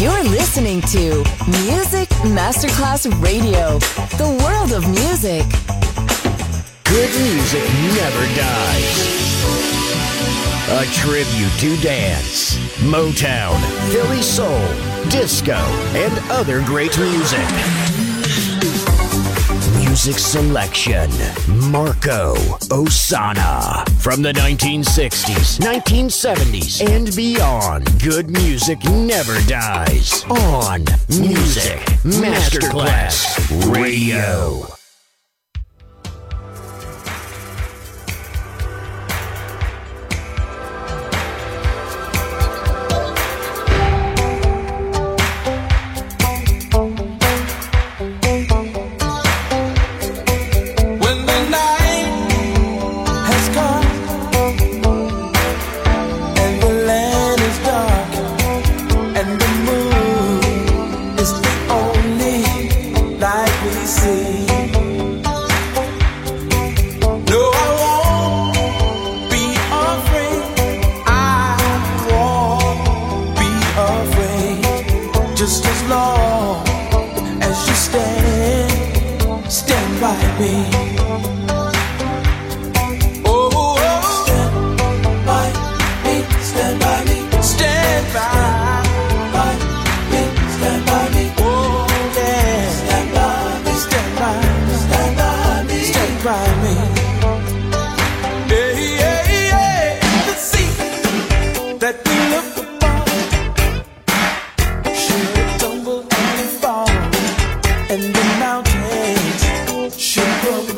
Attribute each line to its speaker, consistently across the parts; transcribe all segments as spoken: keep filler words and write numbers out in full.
Speaker 1: You're listening to Music Masterclass Radio, the world of music.
Speaker 2: Good music never dies. A tribute to dance, Motown, Philly soul, disco, and other great music. Music selection, Marco Ossanna. From the nineteen sixties, nineteen seventies, and beyond, good music never dies. On Music Masterclass Radio.
Speaker 3: And the mountains should grow.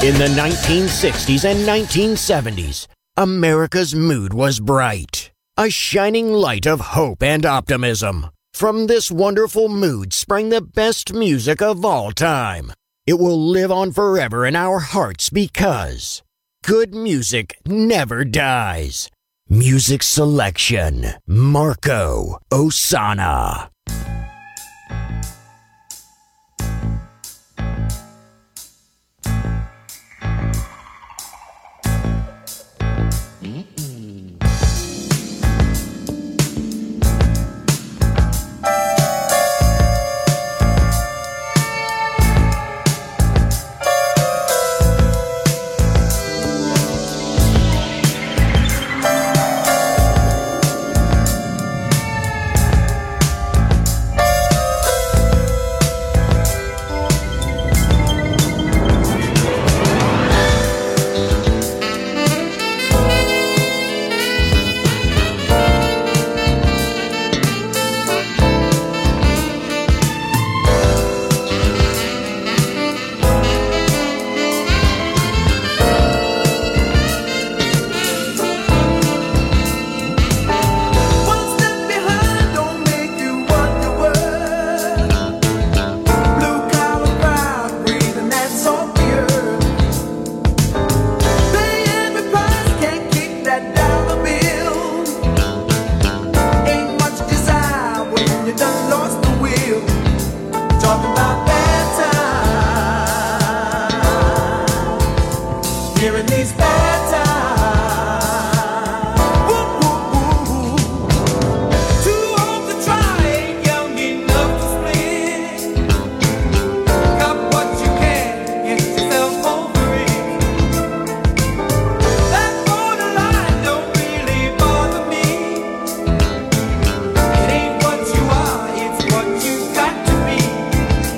Speaker 2: In the nineteen sixties and nineteen seventies, America's mood was bright, a shining light of hope and optimism. From this wonderful mood sprang the best music of all time. It will live on forever in our hearts because good music never dies. Music selection, Marco Ossanna.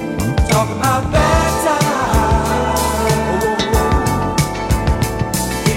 Speaker 3: Talk about bad times.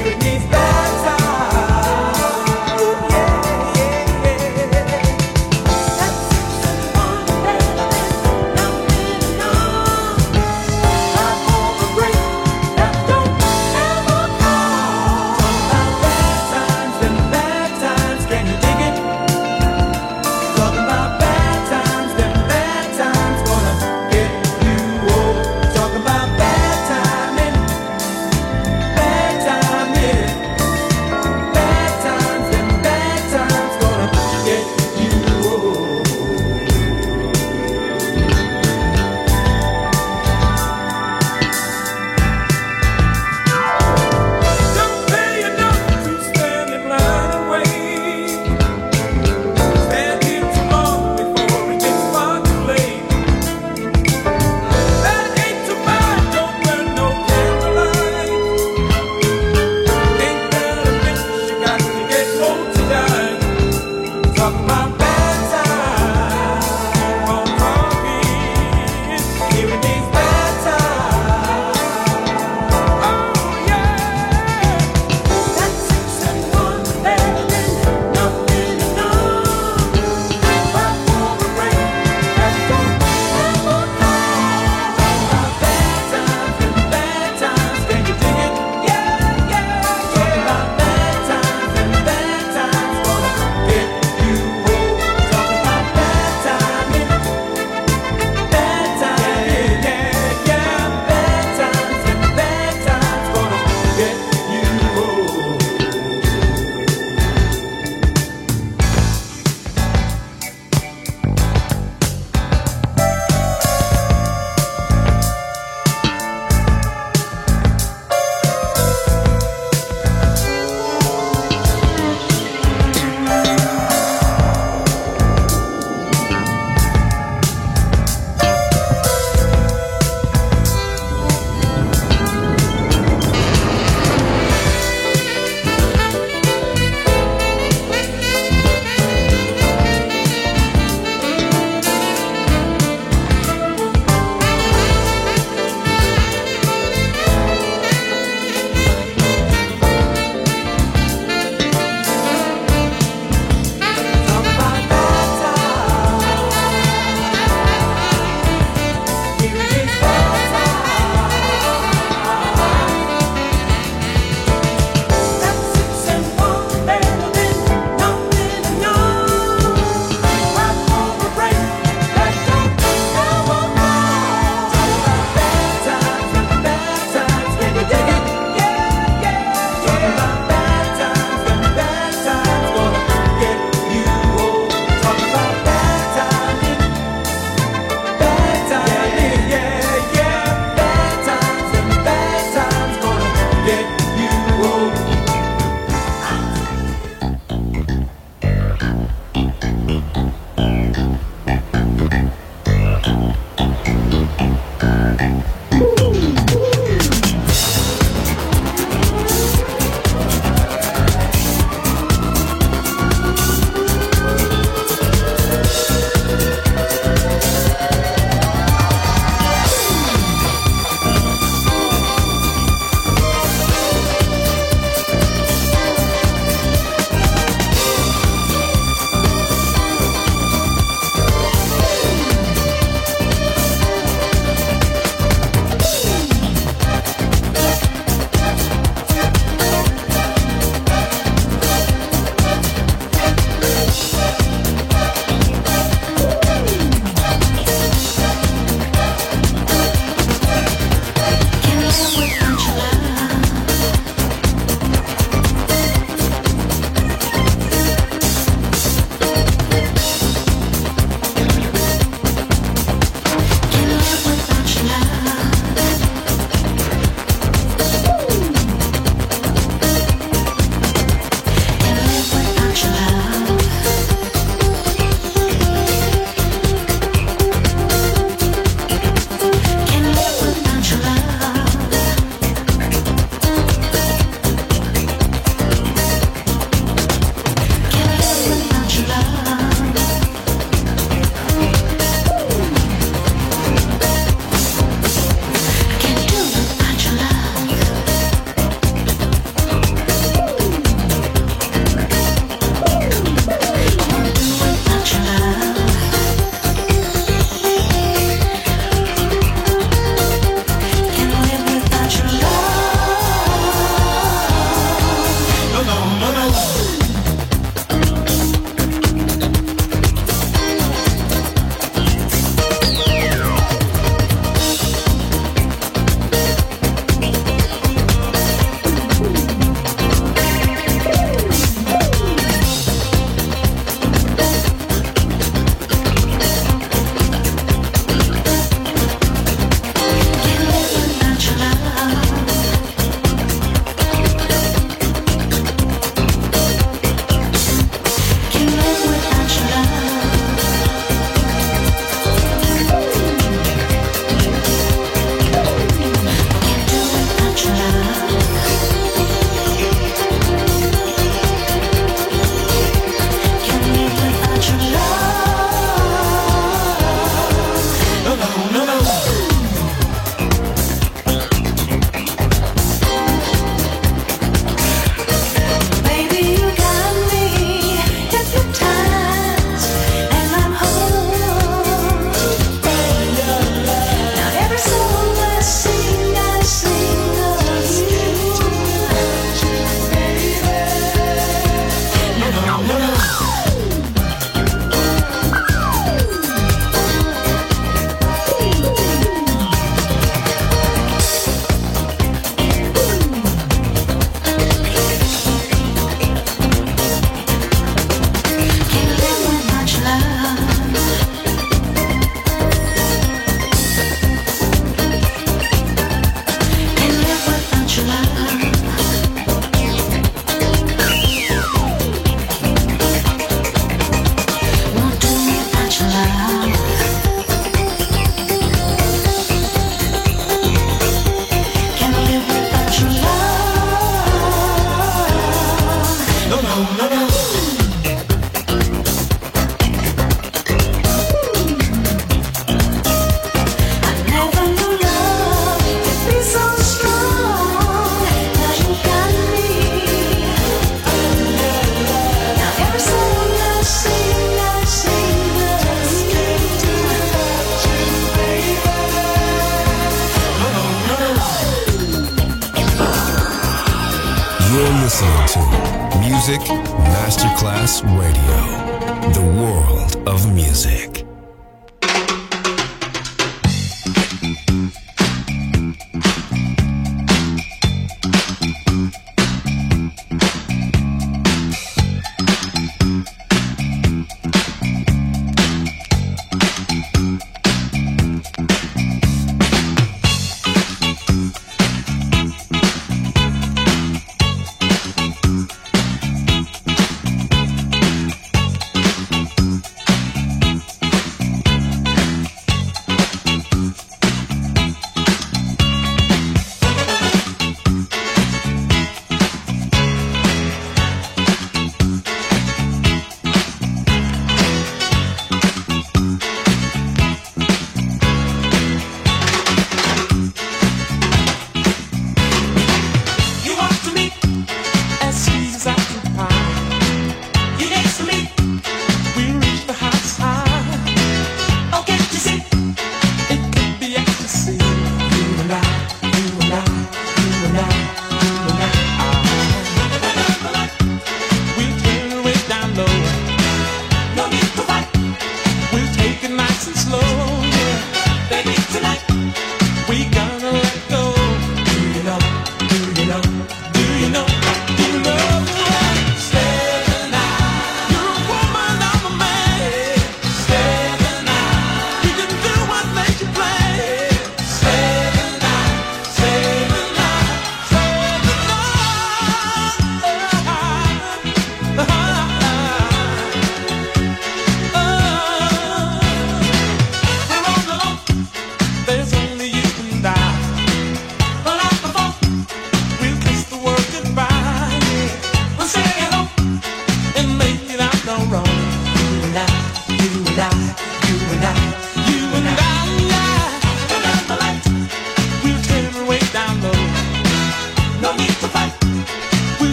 Speaker 3: listening to Music Masterclass Radio, the world of music.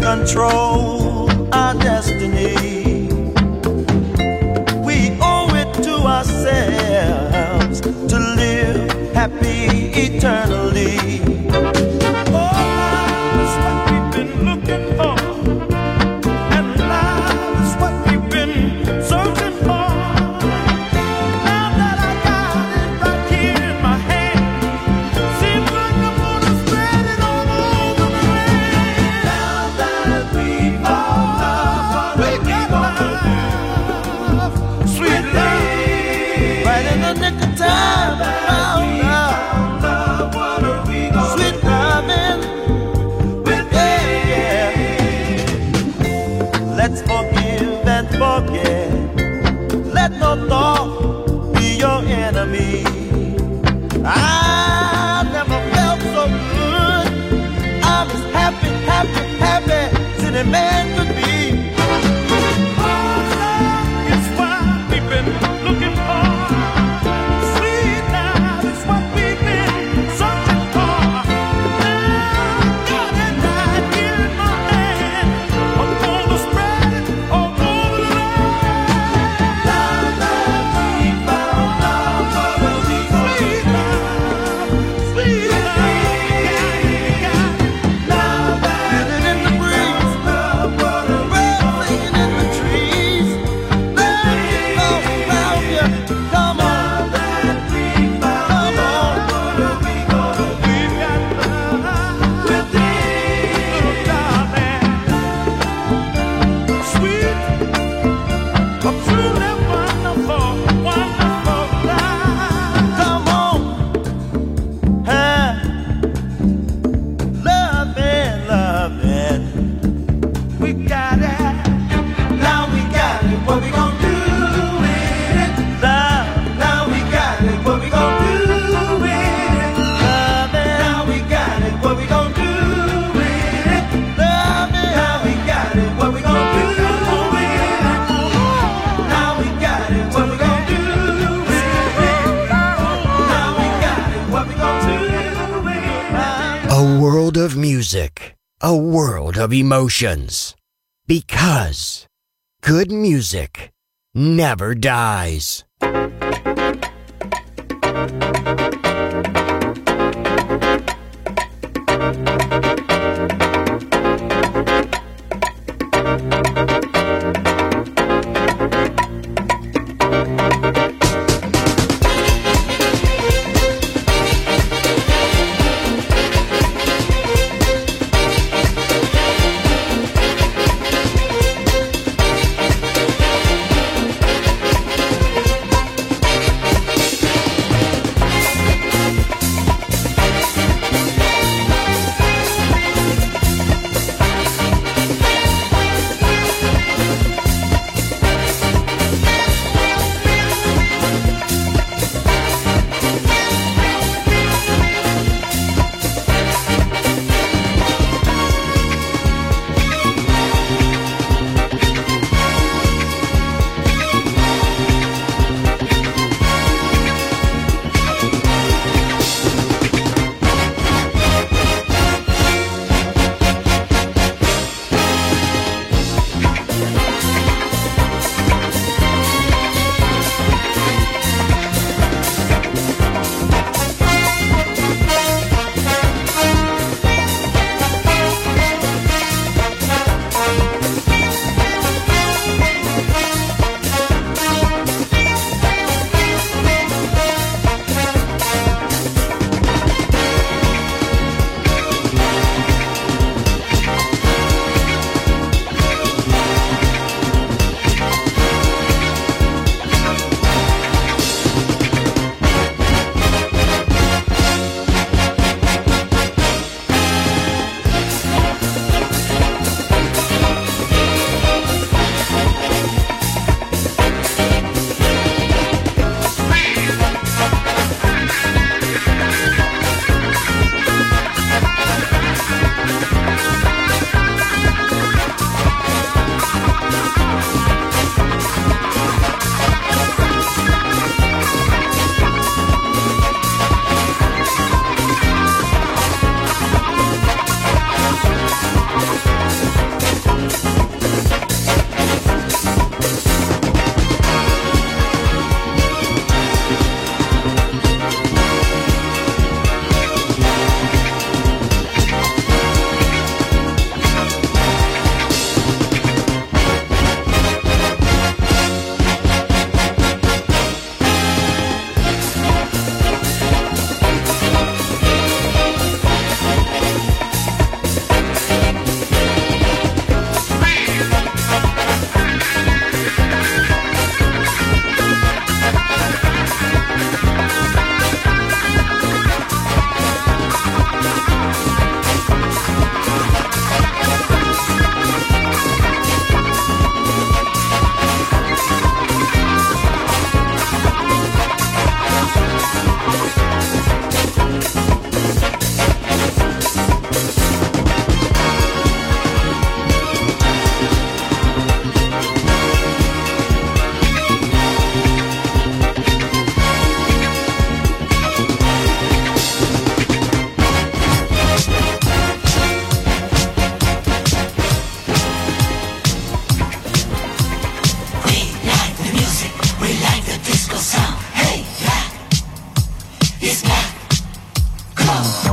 Speaker 4: control our destiny. We owe it to ourselves to live happy eternally. Oh, love is what we've been looking for, and love is what we've been searching for. Now that I got it right here in my hand, seems like I'm gonna spread it all over the land. Now that we found love, we got love, sweet love, right in the nick of time. Found love, sweet loving, yeah, yeah. Let's forgive and forget. Let no thought be your enemy. I never felt so good. I'm as happy, happy, happy as any man could be. Oh, love is what we've been looking for. Sweet love is what we've been searching for. Now, got it right here in my hand. I'm gonna spread it all over the land. Now that we found love, what will we do? Sweet love, sweet love, got it. Now that it in the breeze, love, what will we do? Singing in the trees, let it all around you. Come on, that we found love, what are we gonna do? We've got love within, darling. Sweet, a truly wonderful, wonderful life. Come on, huh? Loving, loving, we got it. Now we got it. What we gonna do with it? Love. Now we got it. What we gonna do with it? Loving. Now we got it. What we gonna do with it? Loving. Now we got it. What we gonna do with it? Now we got it. What we gonna do with it? Now we got it. What we gonna do with it?
Speaker 2: A world of music, a world of emotions. Because good music never dies.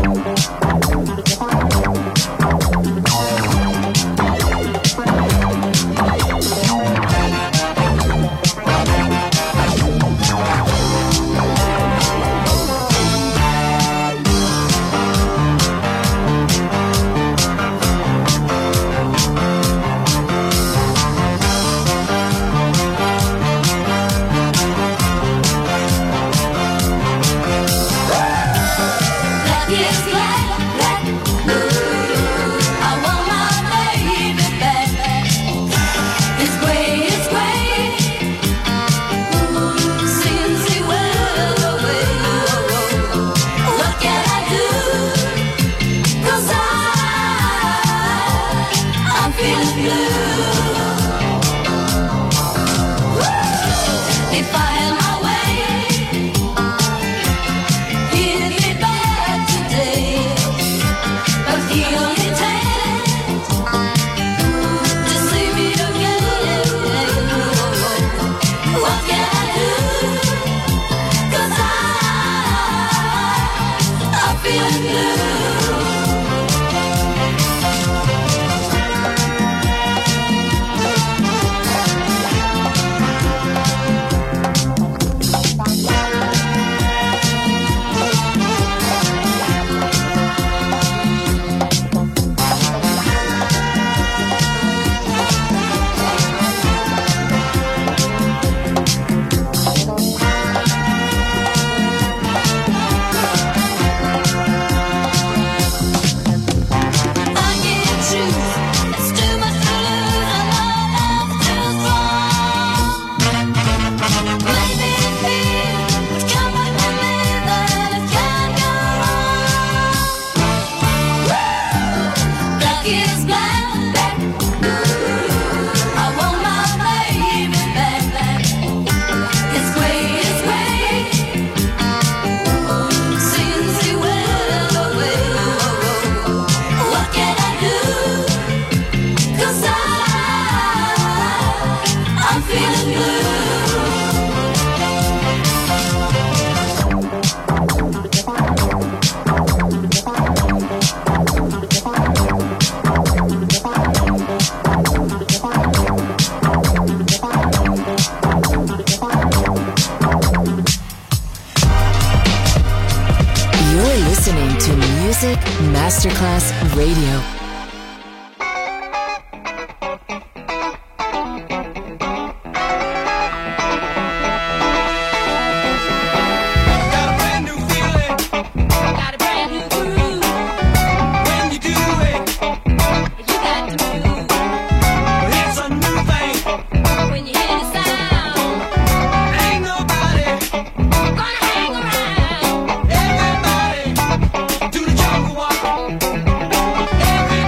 Speaker 1: Masterclass Radio.
Speaker 5: Everybody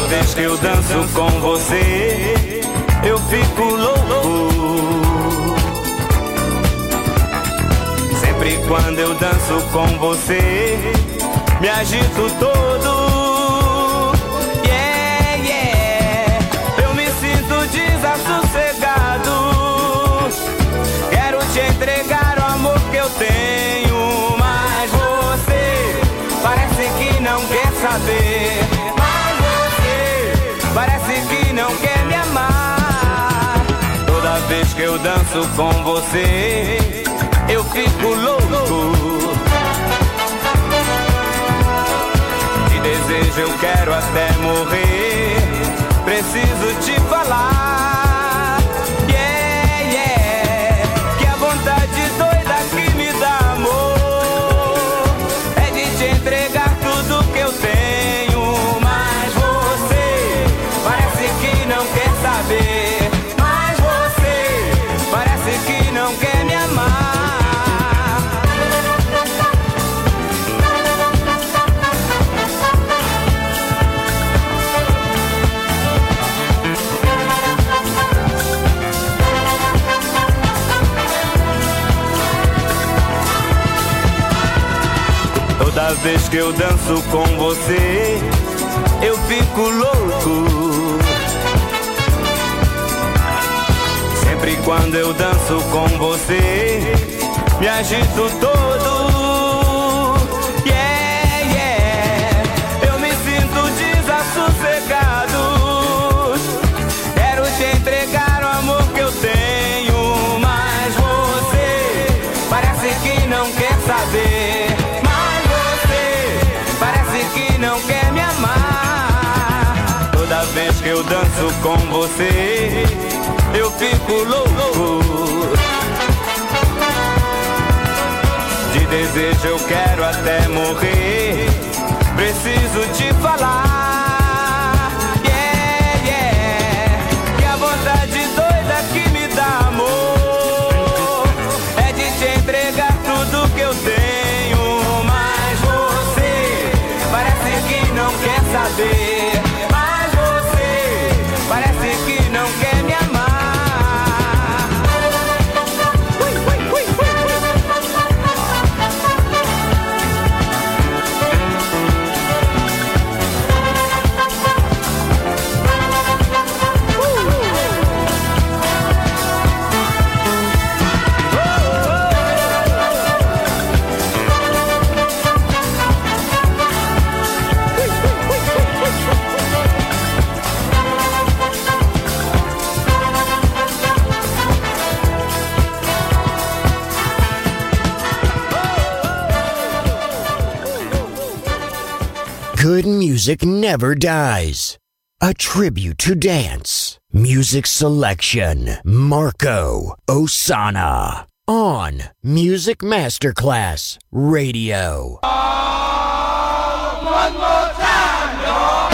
Speaker 5: vez que eu danço com você, eu fico louco. Sempre quando eu danço com você, me agito todo. Yeah, yeah. Eu me sinto desassossegado. Quero te entregar o amor que eu tenho, mas você parece que não quer saber. Mas você parece que não quer me amar. Toda vez que eu danço com você, eu fico louco. De desejo eu quero até morrer. Preciso te falar. Yeah, yeah. Que a vontade doida que me dá amor é de te entregar tudo que eu tenho. Mas você parece que não quer saber. Mas você parece que não quer me amar. Toda vez que eu danço com você, eu fico louco. Sempre quando eu danço com você, me agito todo. Yeah, yeah. Eu me sinto desassossegado. Quero te entregar o amor que eu tenho, mas você parece que não quer saber. Não quer me amar. Toda vez que eu danço com você, eu fico louco. De desejo eu quero até morrer. Preciso te falar. Yeah, yeah. Que a vontade doida que me dá amor é de te entregar tudo que eu tenho. Mas você parece que não quer saber. Mas você parece que não quer me amar. Ui, ui, ui, ui.
Speaker 2: Good music never dies. A tribute to dance. Music selection. Marco Ossanna. On Music Masterclass Radio.
Speaker 4: One more time, y'all.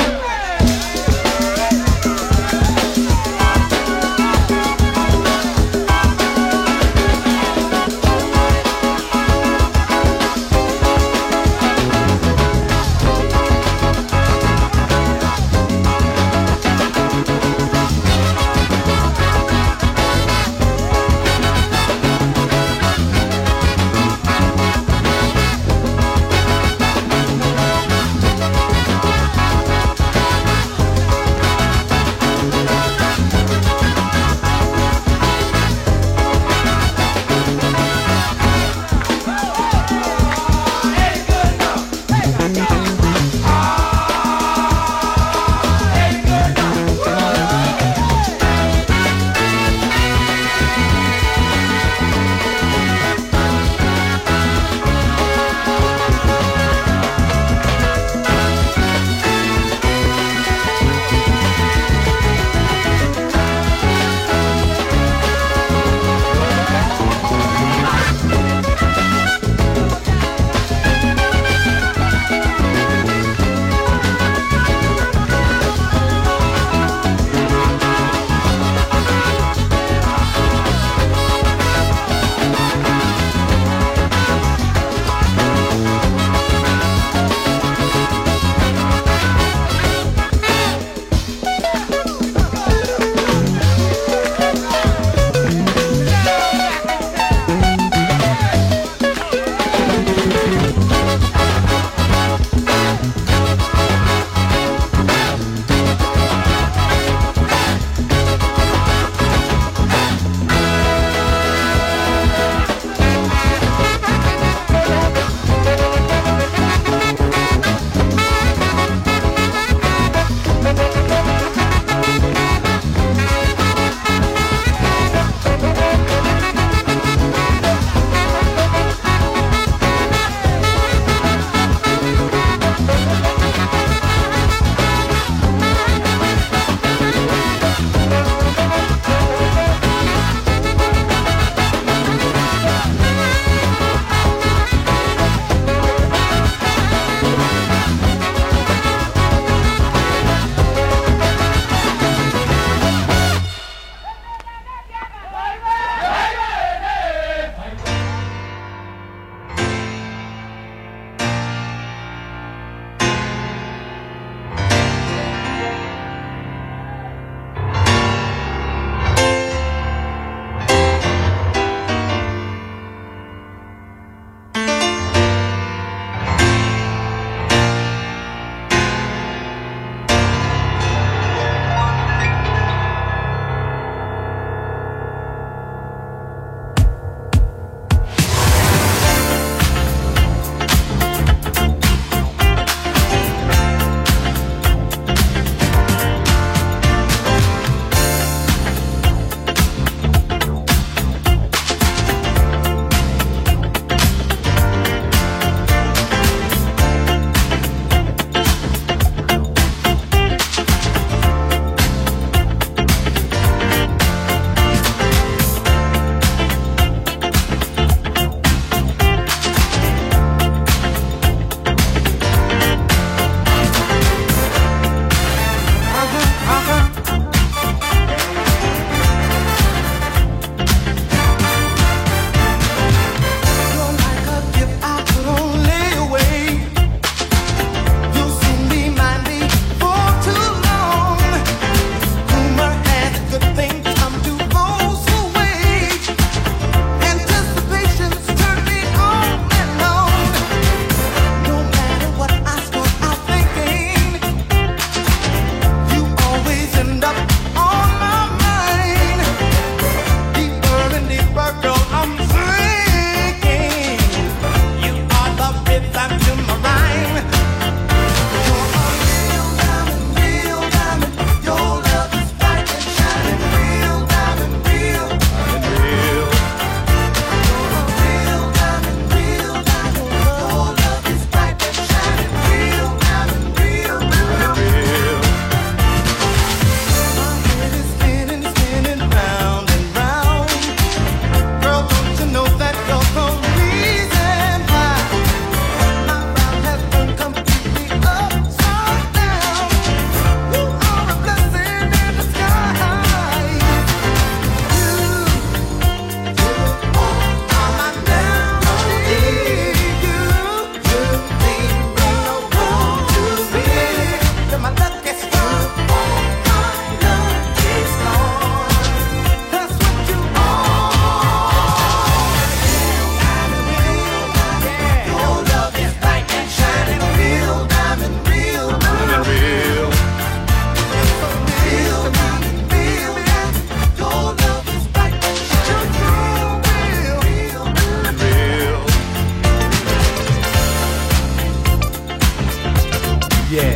Speaker 6: yeah.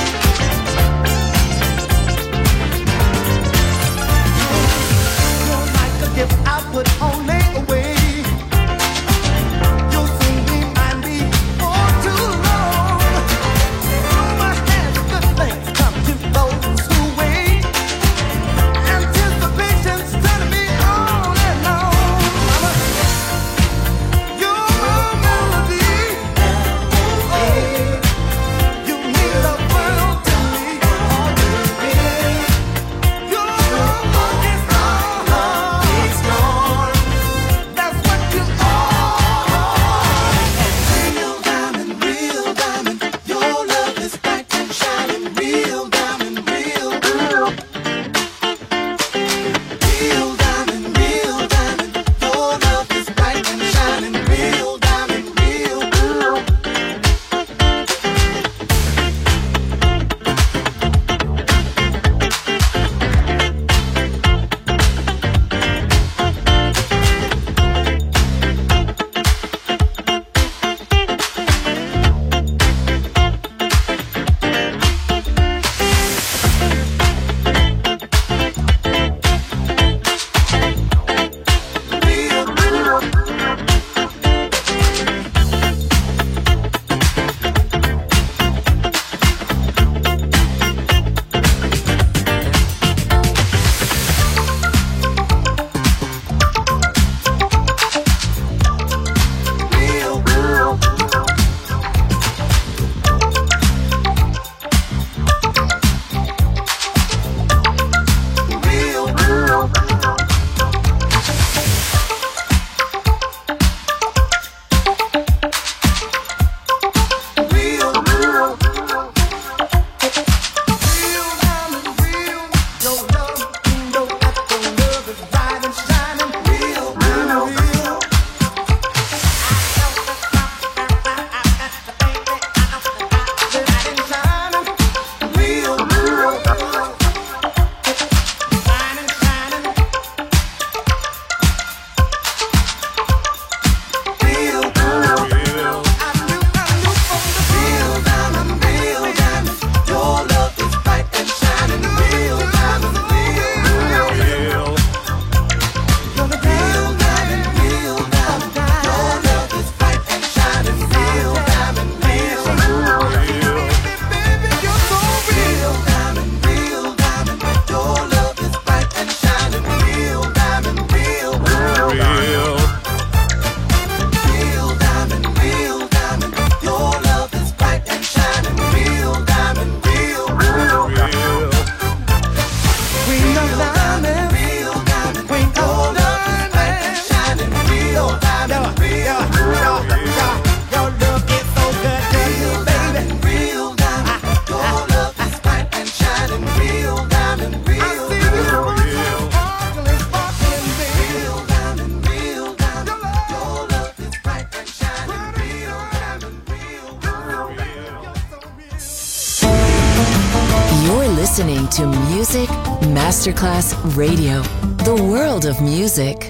Speaker 4: You're like a gift I put on layaway. You'll soon remind me for too long. Rumor has good things come to those who wait. Anticipation's turning me on and on. Mama, you're my melody. Oh, you mean the world to me. You're my orchestra. It's gone. That's what you are. Real diamond, real diamond. Your love is bright and shining. Real diamond, real, real. Real diamond, real diamond. Your love is bright and shining. Real diamond, real, real. Real, real. Real, real. Real, real. Real, real. Real diamond, real. Your love, you know that your love is bright and shining. Real, real, real. Bright and shining. Real, real. Bright and shining. Real, real. I knew, I knew from the real diamond, real diamond. Your love is bright and shining. Real diamond, real, real. You're the real diamond, real diamond. Your love is bright and shining. Real diamond, real, real. Baby, you're so real. Diamond, real diamond. Your love is bright and shining. Real diamond, real, real. Real diamond, real diamond. Your love is bright and shining. Real diamond, real, real. Real diamond, real diamond. Your love is bright and shining. Real diamond, real, real. Your love is so good, real baby. Real diamond. Your love is bright and shining. Real diamond, real, real. Sparkling, sparkling, real diamond, real diamond. Your love is bright and shining. Real diamond, real, real.
Speaker 1: You're listening to Music Masterclass Radio, the world of music.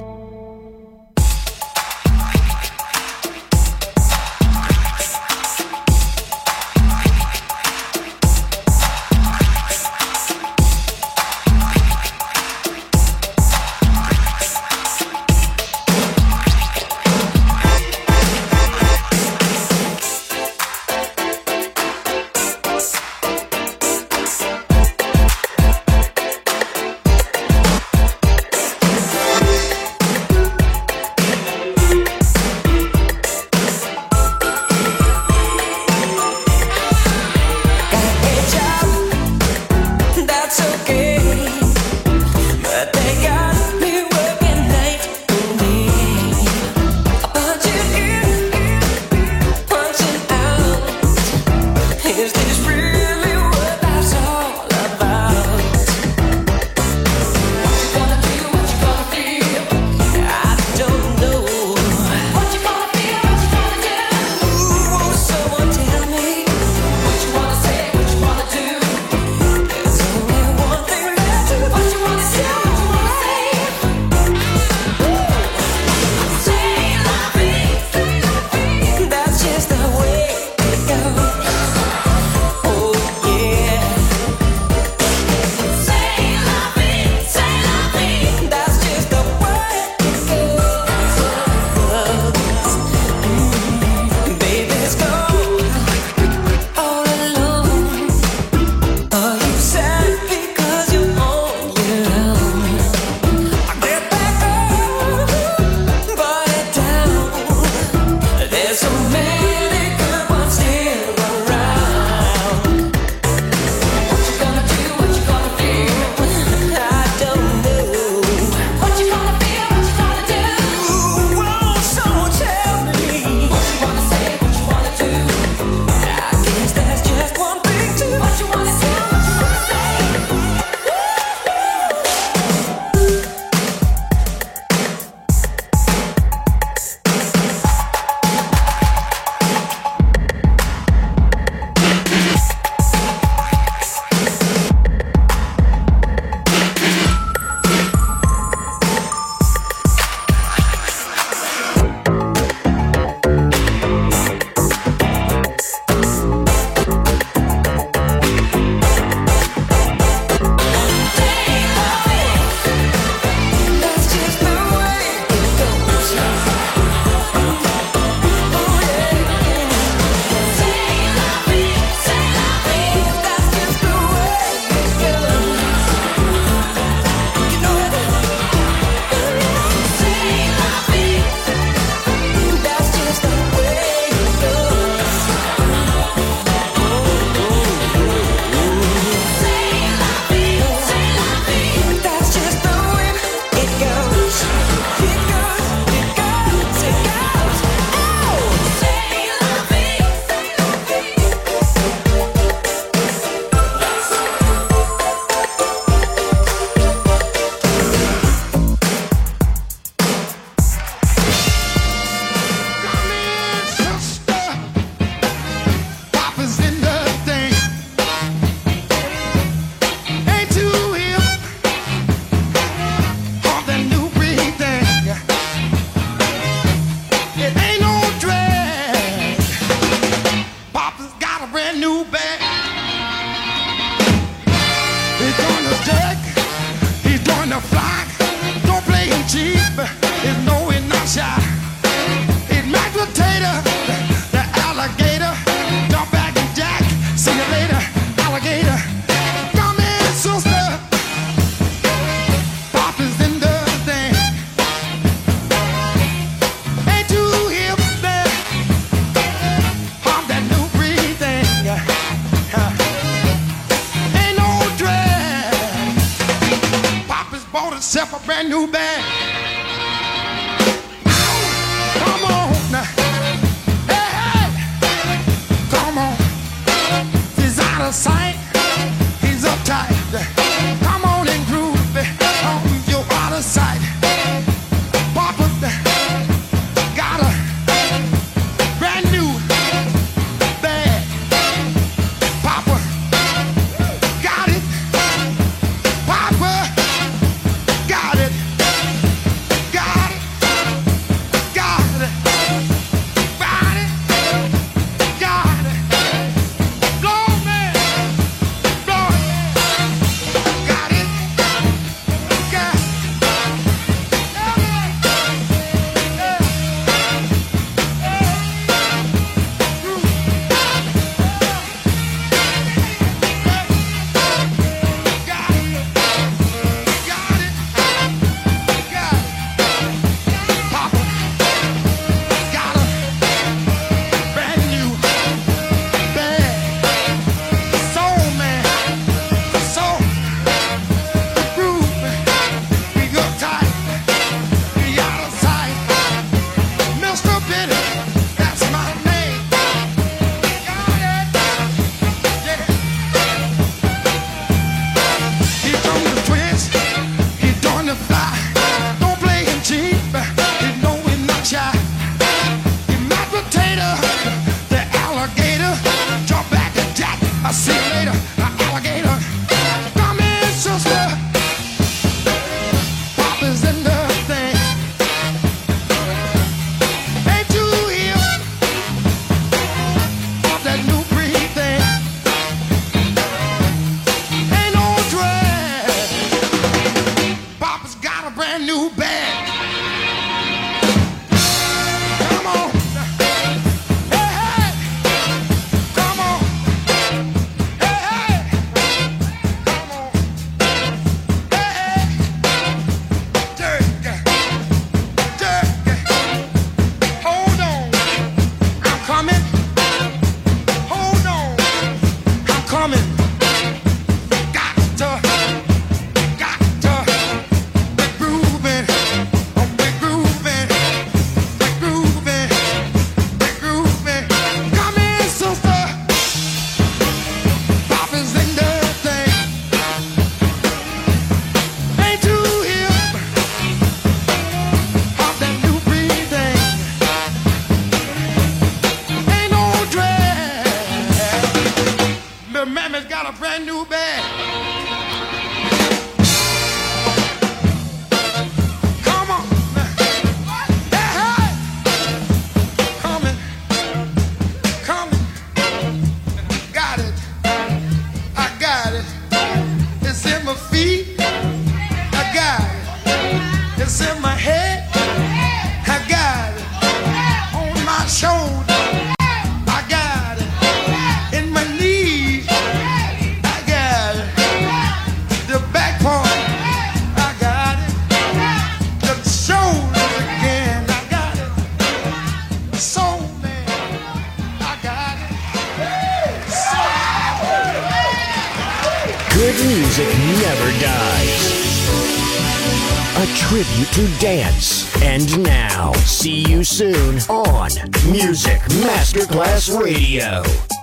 Speaker 7: That's just the way it goes. Oh,
Speaker 6: cheap, it's no we're not shy. It's mashed potato, the alligator, jump back and jack, see you later, alligator. Come in, sister, pop is in the thing. Ain't too hip there, pop that new breed thing. Ain't no drag. Pop has bought himself a brand new bag. Come on now, hey hey, come on. He's out of sight, he's uptight. Come on and groove it, oh, you're out of sight. Papa got a brand new bag. Papa got it. Papa got it. Got it. Got it. Got it. Got it. Blow me. Blow it. Got it. Got it. See you later, alligator. Come in, sister. Papa's in the thing. Ain't too hip. Pop that new breed thing. Ain't no drag. Papa's got a brand new bag. Come on. Hey, hey. Come on. Hey, hey. Come on. Hey, hey. Jerk. Jerk. Hold on. I'm coming. Hold on. I'm coming. Got to. Got to. Be grooving. Oh, be grooving. Be grooving. Be grooving. Come in, sister. Papa's in the thing. Ain't too hip. Pop that new breed thing. Ain't no drag. Little Mammy's got a brand new bag. Come on. Hey, hey. Coming. Coming. Got it. I got it. It's in my feet. I got it. It's in my head. I got it. On my shoulder. I got it. In my knees. I got it. The back part. I got it. The shoulders again. I got it. Soul man. I got it.
Speaker 2: Good music never dies. A tribute to dance. And now, see you soon on Music Masterclass Radio.